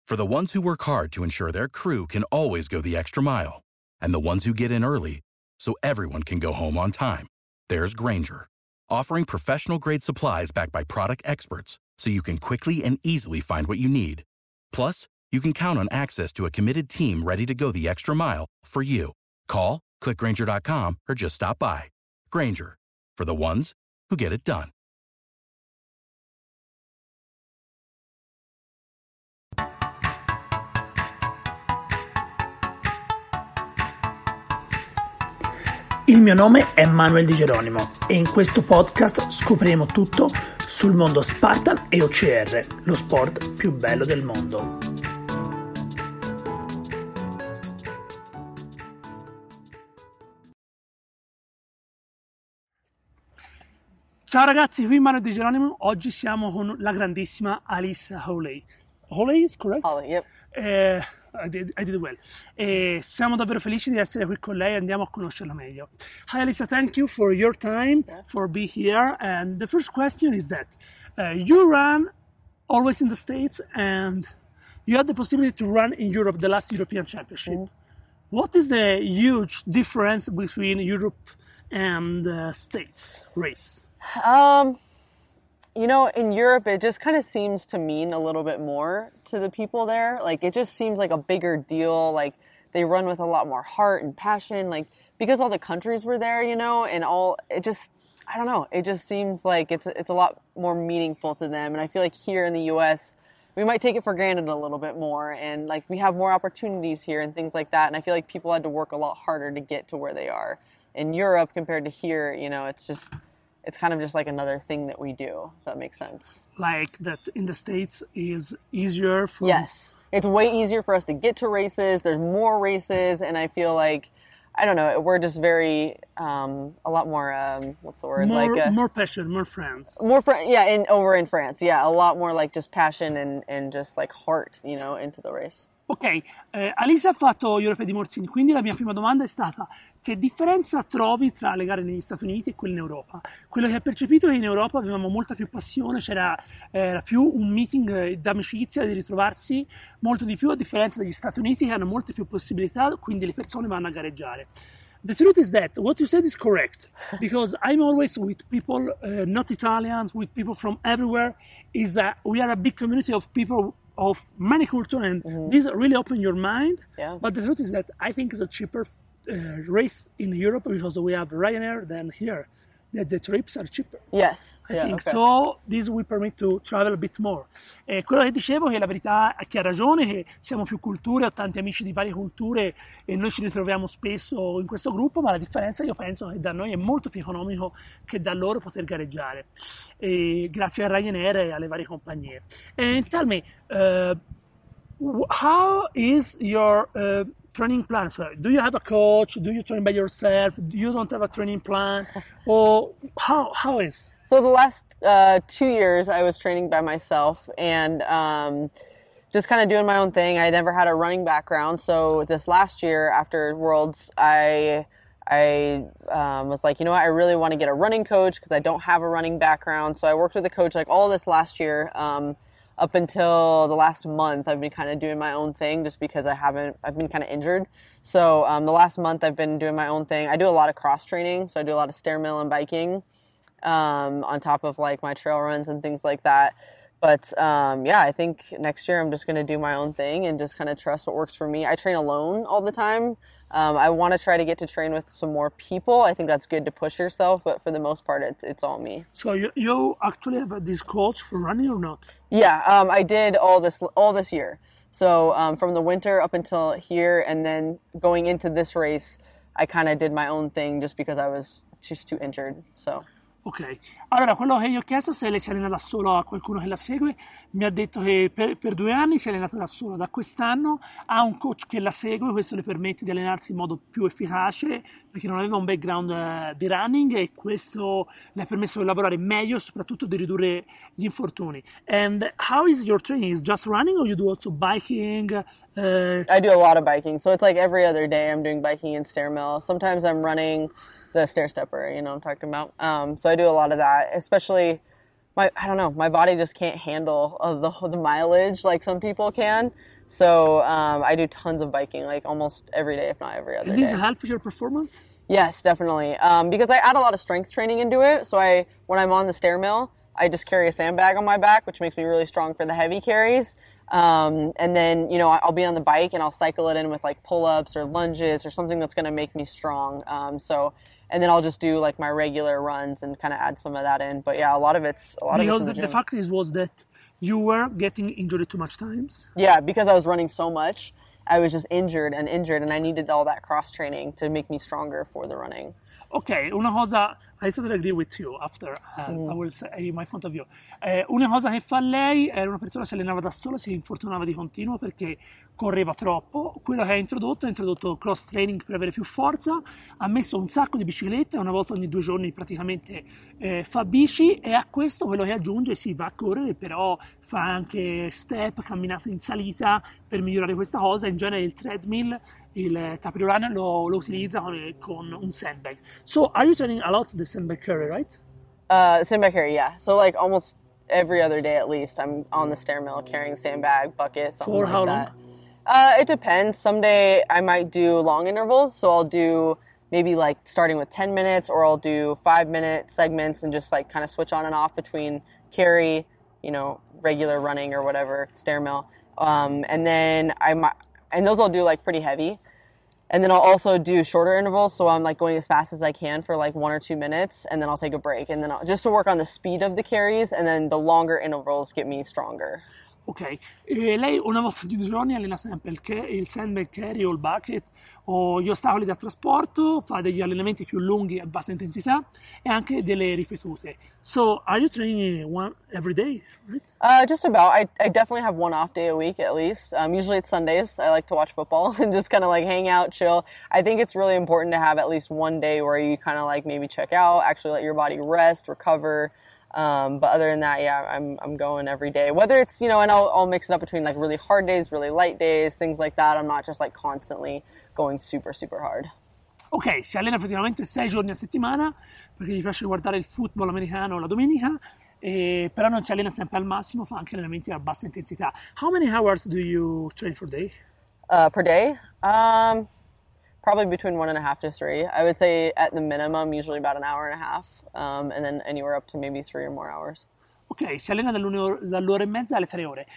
For the ones who work hard to ensure their crew can always go the extra mile, and the ones who get in early so everyone can go home on time, there's Grainger, offering professional-grade supplies backed by product experts so you can quickly and easily find what you need. Plus, you can count on access to a committed team ready to go the extra mile for you. Call, click Grainger.com, or just stop by. Grainger, for the ones who get it done. Il mio nome è Manuel Di Geronimo e in questo podcast scopriremo tutto sul mondo Spartan e OCR, lo sport più bello del mondo. Ciao ragazzi, qui Manuel Di Geronimo. Oggi siamo con la grandissima Alyssa Hawley. Hawley is correct? Hawley, yep. I did well. Siamo davvero felici di essere qui con lei e andiamo a conoscerla meglio. Hi Alyssa, thank you for your time, for being here. And the first question is that you run always in the States and you had the possibility to run in Europe, the last European Championship. Mm-hmm. What is the huge difference between Europe and the States race? You know, in Europe, it just kind of seems to mean a little bit more to the people there. Like, it just seems like a bigger deal. Like, they run with a lot more heart and passion. Like, because all the countries were there, you know, and it just, I don't know. It just seems like it's a lot more meaningful to them. And I feel like here in the U.S., we might take it for granted a little bit more. And, like, we have more opportunities here and things like that. And I feel like people had to work a lot harder to get to where they are. In Europe, compared to here, you know, it's kind of just like another thing that we do, if that makes sense. Like that in the States is easier for... Yes. It's way easier for us to get to races. There's more races. And I feel like, I don't know, we're just very, a lot more, what's the word? More passion, more friends. Over in France. Yeah, a lot more like just passion and just like heart, you know, into the race. Ok, Alyssa ha fatto Europe di Morzini, quindi la mia prima domanda è stata: che differenza trovi tra le gare negli Stati Uniti e quelle in Europa? Quello che ho percepito è che in Europa avevamo molta più passione, era più un meeting d'amicizia, di ritrovarsi molto di più, a differenza degli Stati Uniti che hanno molte più possibilità, quindi le persone vanno a gareggiare. The truth is that what you said is correct, because I'm always with people, not Italians, with people from everywhere. We are a big community of people of many cultures, and this really open your mind. Yeah. But the truth is that I think it's a cheaper race in Europe because we have Ryanair than here. The trips are cheaper. Yes. I think so. This will permit to travel a bit more. Quello che dicevo è che la verità è che ha ragione, che siamo più culture, ho tanti amici di varie culture e noi ci ritroviamo spesso in questo gruppo, ma la differenza io penso che da noi è molto più economico che da loro poter gareggiare, grazie a Ryanair e alle varie compagnie. And tell me, how is your training plan? So, do you have a coach? Do you train by yourself? You don't have a training plan? Or how is? So the last 2 years I was training by myself and just kind of doing my own thing. I never had a running background. So this last year after Worlds, I was like, you know what, I really want to get a running coach because I don't have a running background. So I worked with a coach like all this last year. Up until the last month, I've been kind of doing my own thing just because I've been kind of injured. So the last month I've been doing my own thing. I do a lot of cross training. So I do a lot of stair mill and biking on top of like my trail runs and things like that. But I think next year I'm just going to do my own thing and just kind of trust what works for me. I train alone all the time. I want to try to get to train with some more people. I think that's good to push yourself, but for the most part, it's all me. So you actually have this coach for running or not? Yeah, I did all this year. So from the winter up until here, and then going into this race, I kind of did my own thing just because I was just too injured. So. Ok, allora quello che io ho chiesto se lei si allena da solo a qualcuno che la segue, mi ha detto che per 2 anni si è allenata da sola, da quest'anno ha un coach che la segue, questo le permette di allenarsi in modo più efficace perché non aveva un background di running e questo le ha permesso di lavorare meglio e soprattutto di ridurre gli infortuni. And how is your training? Is just running or you do also biking? I do a lot of biking, so it's like every other day I'm doing biking and stair mill. Sometimes I'm running the stair stepper, you know what I'm talking about. So I do a lot of that, especially I don't know, my body just can't handle the mileage like some people can. So I do tons of biking, like almost every day, if not every other And this day. help your performance? Yes, definitely. Because I add a lot of strength training into it. So when I'm on the stair mill, I just carry a sandbag on my back, which makes me really strong for the heavy carries. And then, I'll be on the bike and I'll cycle it in with like pull-ups or lunges or something that's going to make me strong. And then I'll just do like my regular runs and kind of add some of that in. But yeah, a lot of it's Because in the gym. the fact was that you were getting injured too much times. Yeah, because I was running so much, I was just injured, and I needed all that cross training to make me stronger for the running. Ok, una cosa, I totally agree with you after I will say my point of view. Una cosa che fa lei, era una persona che si allenava da sola, si infortunava di continuo perché correva troppo. Quello che ha introdotto cross training per avere più forza, ha messo un sacco di biciclette, una volta ogni 2 giorni praticamente fa bici, e a questo quello che aggiunge si va a correre, però fa anche step, camminate in salita per migliorare questa cosa. In genere il treadmill, il tapis roulant lo utilizza con un sandbag. So are you training a lot the sandbag carry, right? Sandbag carry, yeah. So like almost every other day at least, I'm on the stair mill carrying sandbag, bucket, something For like how that. long? It depends. Someday I might do long intervals, so I'll do maybe like starting with 10 minutes, or I'll do 5-minute segments and just like kind of switch on and off between carry, regular running or whatever, stair mill. And then and those I'll do like pretty heavy. And then I'll also do shorter intervals, so I'm like going as fast as I can for like 1 or 2 minutes, and then I'll take a break, and then just to work on the speed of the carries, and then the longer intervals get me stronger. Ok, e lei una volta ogni 2 giorni allena sempre il sandbag carry o il bucket o gli ostacoli da trasporto, fa degli allenamenti più lunghi a bassa intensità e anche delle ripetute. So, are you training one every day, right? Just about. I definitely have one off day a week at least. Usually it's Sundays. I like to watch football and just kind of like hang out, chill. I think it's really important to have at least one day where you kind of like maybe check out, actually let your body rest, recover. But other than that, yeah, I'm going every day. Whether it's, and I'll mix it up between like really hard days, really light days, things like that. I'm not just like constantly going super, super hard. Ok, si allena praticamente 6 giorni a settimana perché gli piace guardare il football americano la domenica, però non si allena sempre al massimo, fa anche allenamenti a bassa intensità. How many hours do you train per day? Per day? Probably between 1.5 to 3. I would say at the minimum, usually about an hour and a half, and then anywhere up to maybe 3 or more hours. Ok, si allena dall'ora e mezza alle 3 ore.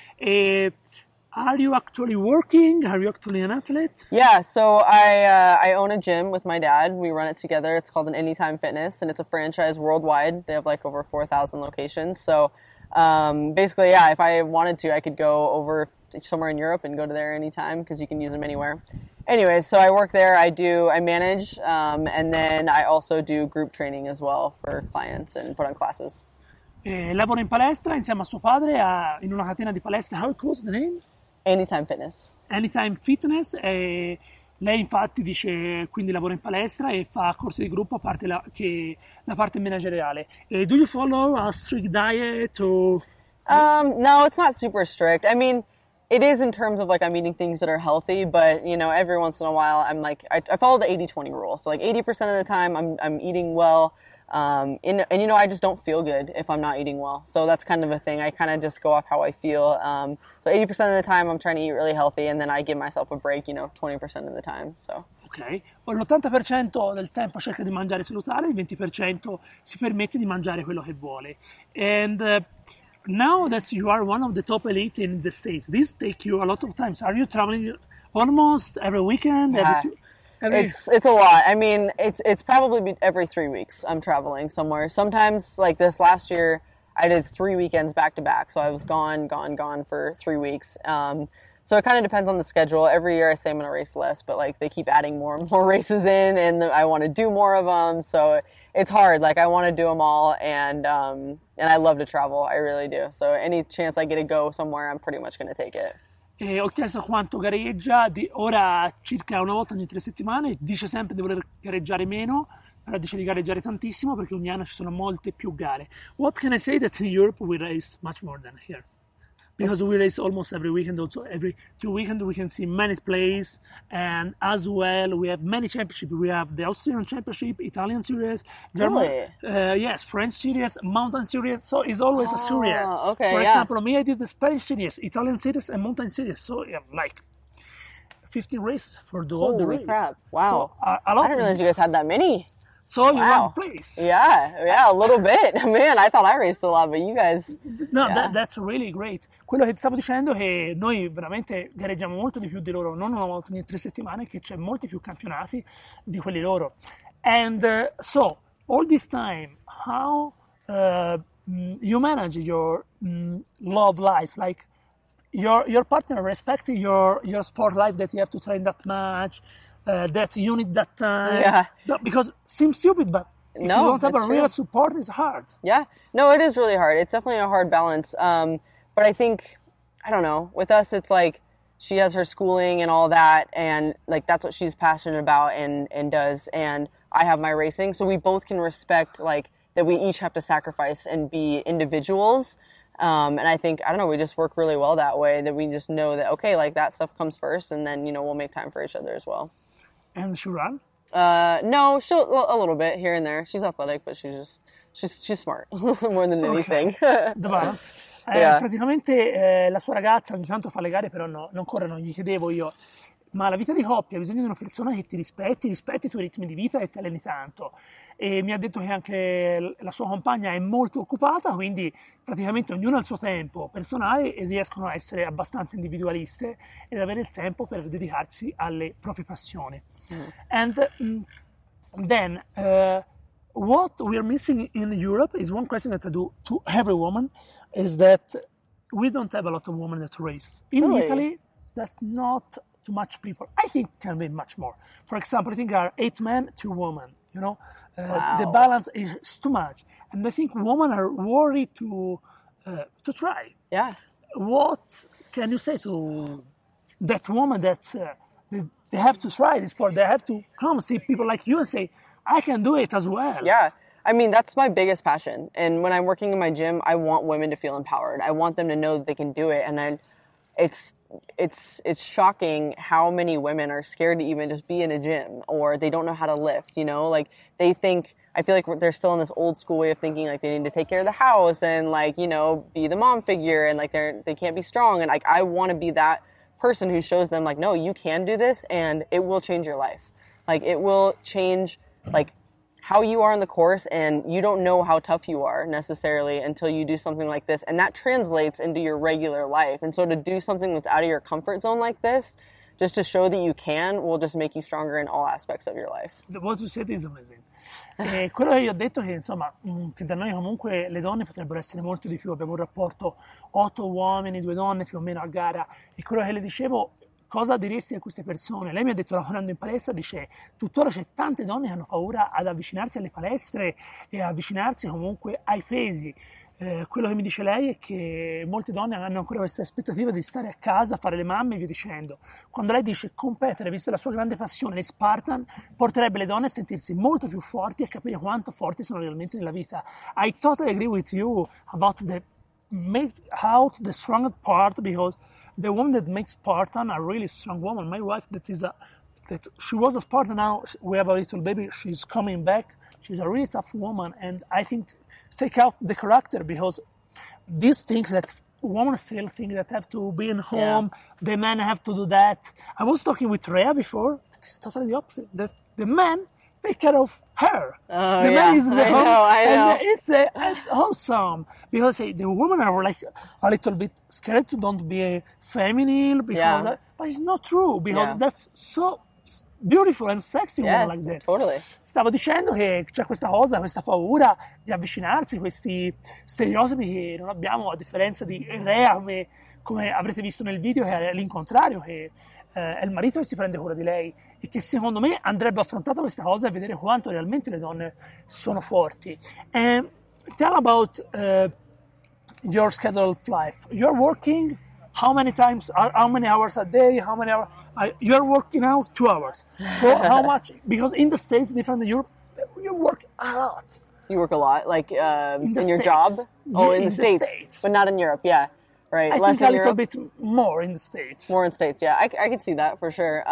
Are you actually working? Are you actually an athlete? Yeah, so I own a gym with my dad. We run it together. It's called an Anytime Fitness, and it's a franchise worldwide. They have like over 4,000 locations. So basically, yeah, if I wanted to, I could go over somewhere in Europe and go to there anytime because you can use them anywhere. Anyways, so I work there. I manage, and then I also do group training as well for clients and put on classes. Lavora in palestra insieme a suo padre in una catena di palestre. How it calls the name? Anytime Fitness. Anytime Fitness. Lei infatti dice quindi lavora in palestra e fa corsi di gruppo a parte la parte manageriale. Do you follow a strict diet or? No, it's not super strict. I mean, it is in terms of like I'm eating things that are healthy, but every once in a while I'm like I follow the 80-20 rule. So like 80% of the time I'm eating well. And I just don't feel good if I'm not eating well. So that's kind of a thing. I kind of just go off how I feel. So 80% of the time I'm trying to eat really healthy, and then I give myself a break, 20% of the time. So. Ok, l'80% del tempo cerca di mangiare salutare, il 20% si permette di mangiare quello che vuole. And now that you are one of the top elite in the States, this take you a lot of time. Are you traveling almost every weekend? Yeah. It's a lot. I mean, it's probably every 3 weeks I'm traveling somewhere. Sometimes, like this last year, I did 3 weekends back to back. So I was gone for 3 weeks. So it kind of depends on the schedule. Every year I say I'm going to race less, but like they keep adding more and more races in, and I want to do more of them. So it's hard. Like I want to do them all, and I love to travel. I really do. So any chance I get to go somewhere, I'm pretty much going to take it. Ho chiesto quanto gareggia, ora circa una volta ogni 3 settimane, dice sempre di voler gareggiare meno, però dice di gareggiare tantissimo perché ogni anno ci sono molte più gare. What can I say that in Europe we race much more than here? because we race almost every weekend. Also, every 2 weekends we can see many plays, and as well we have many championships. We have the Austrian Championship, Italian Series, German, yes, French Series, Mountain Series. So it's always a series. Okay, For example, me, I did the Spanish Series, Italian Series, and Mountain Series. So like 15 races for all the race. Holy crap! Wow, So, a lot I didn't realize you guys had that many. So you Wow. want the place. Yeah, a little bit. Man, I thought I raced a lot, but you guys. No, Yeah. that's really great. Quello che ti stavo dicendo è che noi veramente gareggiamo molto di più di loro, non una volta ogni 3 settimane, che c'è molti più campionati di quelli loro. And so, all this time, how you manage your love life? Like, your partner respects your sport life, that you have to train that much, that you need that time. Yeah. No, because it seems stupid, but if No, you don't have a it's real true. support, it's hard. Yeah, no, it is really hard. It's definitely a hard balance. But I think, I don't know, with us, it's like she has her schooling and all that, and like that's what she's passionate about and does, and I have my racing, so we both can respect like that we each have to sacrifice and be individuals. And I think, I don't know, we just work really well that way, that we just know that, okay, like that stuff comes first, and then, we'll make time for each other as well. And she run? No, she'll a little bit here and there. She's athletic, but she's smart more than anything. The balance. Yeah. Praticamente la sua ragazza ogni tanto fa le gare, però no, non corre, non gli chiedevo io. Ma la vita di coppia ha bisogno di una persona che ti rispetti i tuoi ritmi di vita e ti alleni tanto. E mi ha detto che anche la sua compagna è molto occupata, quindi praticamente ognuno ha il suo tempo personale e riescono a essere abbastanza individualiste ed avere il tempo per dedicarsi alle proprie passioni. And then what we're missing in Europe is one question that I do to every woman, is that we don't have a lot of women that race. In Really? Italy, that's not too much people. I think can be much more. For example, I think there are 8 men, 2 women. Wow. The balance is too much, and I think women are worried to try. Yeah. What can you say to that woman that they have to try this sport? They have to come see people like you and say, I can do it as well. Yeah. I mean, that's my biggest passion. And when I'm working in my gym, I want women to feel empowered. I want them to know that they can do it. And it's shocking how many women are scared to even just be in a gym, or they don't know how to lift, like they think, I feel like they're still in this old school way of thinking, like they need to take care of the house and like, be the mom figure, and like they can't be strong. And like, I want to be that person who shows them like, no, you can do this and it will change your life. Like it will change like how you are on the course, and you don't know how tough you are necessarily until you do something like this, and that translates into your regular life. And so to do something that's out of your comfort zone like this, just to show that you can, will just make you stronger in all aspects of your life. What you said is amazing. Quello che io ho detto è che insomma che da noi comunque le donne potrebbero essere molto di più. Abbiamo un rapporto 8 uomini, 2 donne più o meno a gara, e quello che le dicevo, cosa diresti a queste persone? Lei mi ha detto, lavorando in palestra, dice, tuttora c'è tante donne che hanno paura ad avvicinarsi alle palestre e avvicinarsi comunque ai pesi. Quello che mi dice lei è che molte donne hanno ancora questa aspettativa di stare a casa, fare le mamme e via dicendo. Quando lei dice competere, vista la sua grande passione, le Spartan, porterebbe le donne a sentirsi molto più forti e a capire quanto forti sono realmente nella vita. I totally agree with you about the make out the strongest part, because the woman that makes Spartan are really strong woman. My wife, that she was a Spartan, now we have a little baby, she's coming back. She's a really tough woman, and I think take out the character, because these things that women still think that have to be in home, the men have to do that. I was talking with Rhea before, it's totally the opposite. The men take care of her. Oh, the man is in the home, I know. and it's awesome, because the women are like a little bit scared to don't be feminine, because but it's not true, because that's so beautiful and sexy woman like that. Totally. Stavo dicendo che c'è questa cosa, questa paura di avvicinarsi, questi stereotipi che non abbiamo, a differenza di Rea, come avrete visto nel video, che è l'incontrario, che è il marito che si prende cura di lei, e che secondo me andrebbe affrontata questa cosa e vedere quanto realmente le donne sono forti. Tell about your schedule of life. You're working how many hours a day, how many hours? You're working out 2 hours. So how much? Because in the States, different than Europe, you work a lot. You work a lot, like in your States. job? Oh, in the in States, but not in Europe, yeah. right? I Less think a in little Europe. bit more in the States. More in States, yeah. I could see that for sure.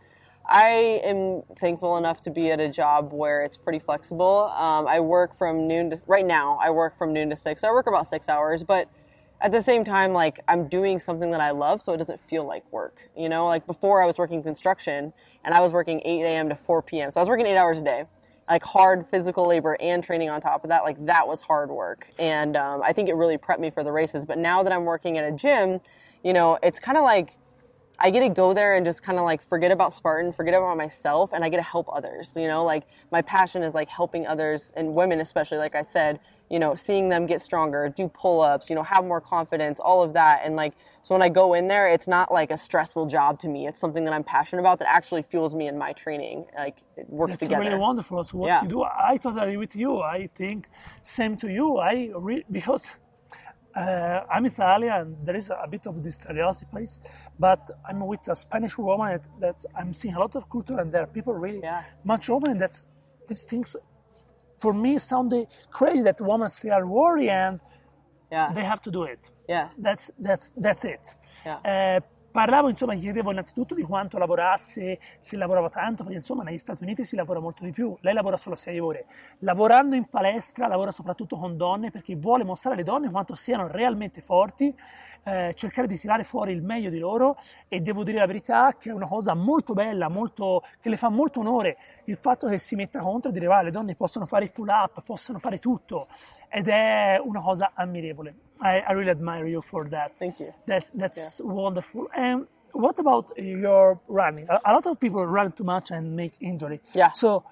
I am thankful enough to be at a job where it's pretty flexible. I work from noon to, right now, I work from noon to 6. So I work about 6 hours, but at the same time, like, I'm doing something that I love, so it doesn't feel like work. You know, like before I was working construction and I was working 8 a.m. to 4 p.m. So I was working 8 hours a day, like hard physical labor and training on top of that. Like, that was hard work. And I think it really prepped me for the races. But now that I'm working at a gym, you know, it's kind of like, I get to go there and just kind of like forget about Spartan, forget about myself, and I get to help others. You know, like my passion is like helping others, and women especially, like I said, you know, seeing them get stronger, do pull-ups, you know, have more confidence, all of that. And like, so when I go in there, it's not like a stressful job to me. It's something that I'm passionate about that actually fuels me in my training. Like, it works together. That's really wonderful. So what you do, I totally agree with you. I think same to you. Because I'm Italian, there is a bit of this stereotypes, but I'm with a Spanish woman that I'm seeing a lot of culture, and there are people really much open, and these things for me sound crazy that women still are worried and they have to do it. Yeah. That's it. Yeah. Parlavo, insomma, gli chiedevo innanzitutto di quanto lavorasse, se lavorava tanto, perché insomma negli Stati Uniti si lavora molto di più, lei lavora solo 6 ore. Lavorando in palestra lavora soprattutto con donne perché vuole mostrare alle donne quanto siano realmente forti, cercare di tirare fuori il meglio di loro, e devo dire la verità che è una cosa molto bella, che le fa molto onore il fatto che si metta contro e dire le donne possono fare i pull-up, possono fare tutto, ed è una cosa ammirevole. I really admire you for that. Thank you. That's wonderful. And what about your running? A lot of people run too much and make injury. Yeah. So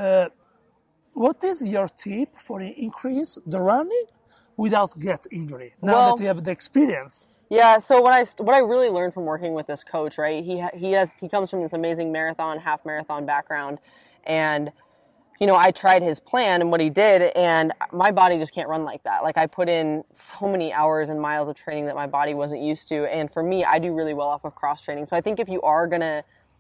what is your tip for increase the running without get injury now that you have the experience? Yeah, so what I really learned from working with this coach, right? He comes from this amazing marathon, half marathon background, and you know, I tried his plan and what he did, and my body just can't run like that. Like, I put in so many hours and miles of training that my body wasn't used to, and for me, I do really well off of cross training. So I think if you are gonna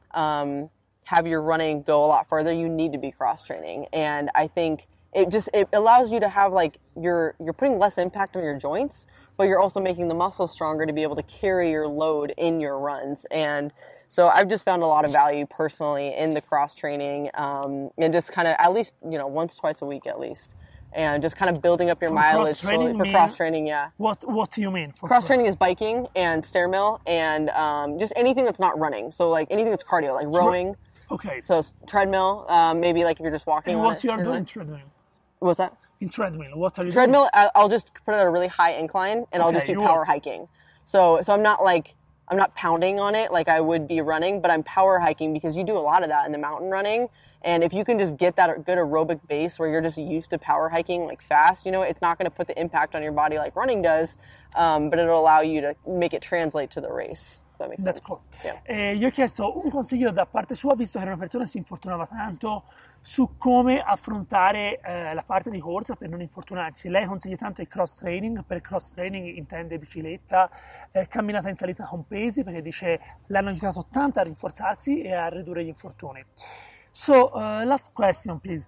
have your running go a lot further, you need to be cross training, and I think it allows you to have, like, you're putting less impact on your joints, but you're also making the muscles stronger to be able to carry your load in your runs. And so I've just found a lot of value personally in the cross training, and just kind of at least, you know, once, twice a week at least, and just kind of building up your mileage slowly for cross training. Yeah. What do you mean? For cross training is biking and stair mill and just anything that's not running. So like anything that's cardio, like rowing. Okay. So treadmill, maybe like if you're just walking. And what you are doing treadmill? What's that? In treadmill, what are you treadmill, doing? I'll just put it at a really high incline, and I'll just do power hiking. So I'm not pounding on it like I would be running, but I'm power hiking because you do a lot of that in the mountain running. And if you can just get that good aerobic base where you're just used to power hiking like fast, you know, it's not going to put the impact on your body like running does, but it'll allow you to make it translate to the race. That makes sense. That's cool. Yeah. Gli ho chiesto un consiglio da parte sua, visto che era una persona che si infortunava tanto, su come affrontare la parte di corsa per non infortunarsi. Lei consiglia tanto il cross training. Per cross training intende bicicletta, camminata in salita con pesi, perché dice l'hanno aiutato tanto a rinforzarsi e a ridurre gli infortuni. So, last question, please.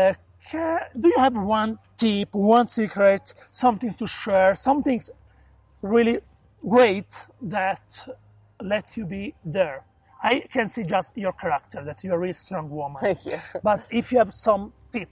Do you have one tip, one secret, something to share, something really great that let you be there? I can see just your character, that you're a really strong woman. Thank you. But if you have some tip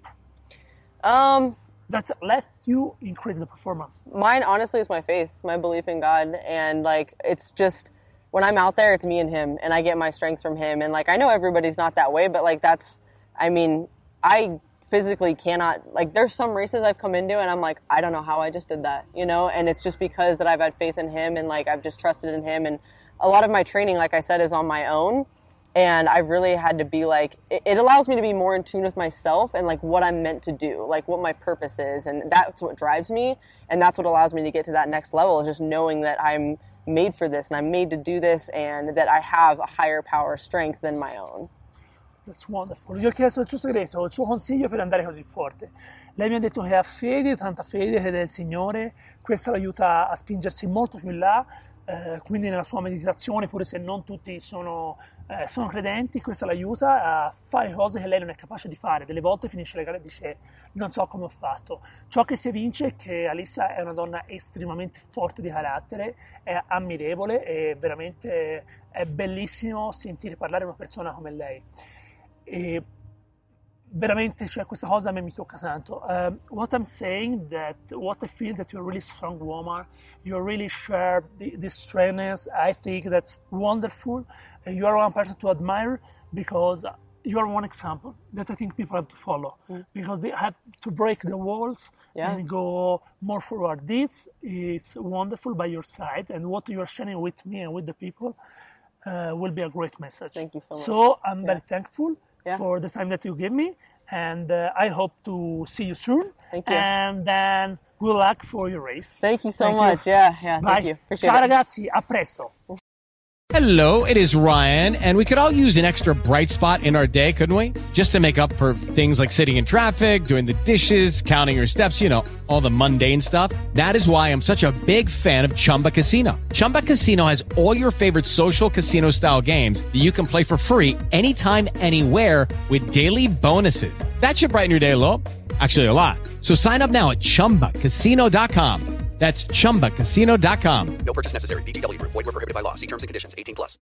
that let you increase the performance. Mine, honestly, is my faith, my belief in God. And, like, it's just, when I'm out there, it's me and him. And I get my strength from him. And, like, I know everybody's not that way, but, like, I physically cannot, like, there's some races I've come into and I'm like, I don't know how I just did that, you know? And it's just because that I've had faith in him and, like, I've just trusted in him. And a lot of my training, like I said, is on my own. And I've really had to be like, it allows me to be more in tune with myself and like what I'm meant to do, like what my purpose is. And that's what drives me. And that's what allows me to get to that next level, is just knowing that I'm made for this and I'm made to do this and that I have a higher power strength than my own. That's wonderful. Gli ho chiesto il suo segreto, il suo consiglio per andare così forte. Lei mi ha detto che ha fede, tanta fede, crede nel Signore, questo l'aiuta a spingersi molto più in là, quindi nella sua meditazione, pure se non tutti sono credenti, questo l'aiuta a fare cose che lei non è capace di fare. Delle volte finisce le gare e dice non so come ho fatto. Ciò che si evince è che Alyssa è una donna estremamente forte di carattere, è ammirevole e veramente è bellissimo sentire parlare una persona come lei. E veramente, cioè, questa cosa a me mi tocca tanto. What I'm saying, what I feel that you're a really strong woman, you really share this strength. I think that's wonderful. You are one person to admire because you are one example that I think people have to follow, because they have to break the walls and go more forward. It's wonderful by your side, and what you are sharing with me and with the people will be a great message. Thank you so much. So I'm very thankful for the time that you give me, and I hope to see you soon. Thank you. And then good luck for your race. Thank you so much. Yeah, thank Bye. you. Appreciate Ciao it. ragazzi, a presto. Hello, it is Ryan, and we could all use an extra bright spot in our day, couldn't we? Just to make up for things like sitting in traffic, doing the dishes, counting your steps, you know, all the mundane stuff. That is why I'm such a big fan of Chumba Casino. Chumba Casino has all your favorite social casino-style games that you can play for free anytime, anywhere with daily bonuses. That should brighten your day a little. Actually, a lot. So sign up now at ChumbaCasino.com. That's ChumbaCasino.com. No purchase necessary. VGW Group. Void where prohibited by law. See terms and conditions. 18+.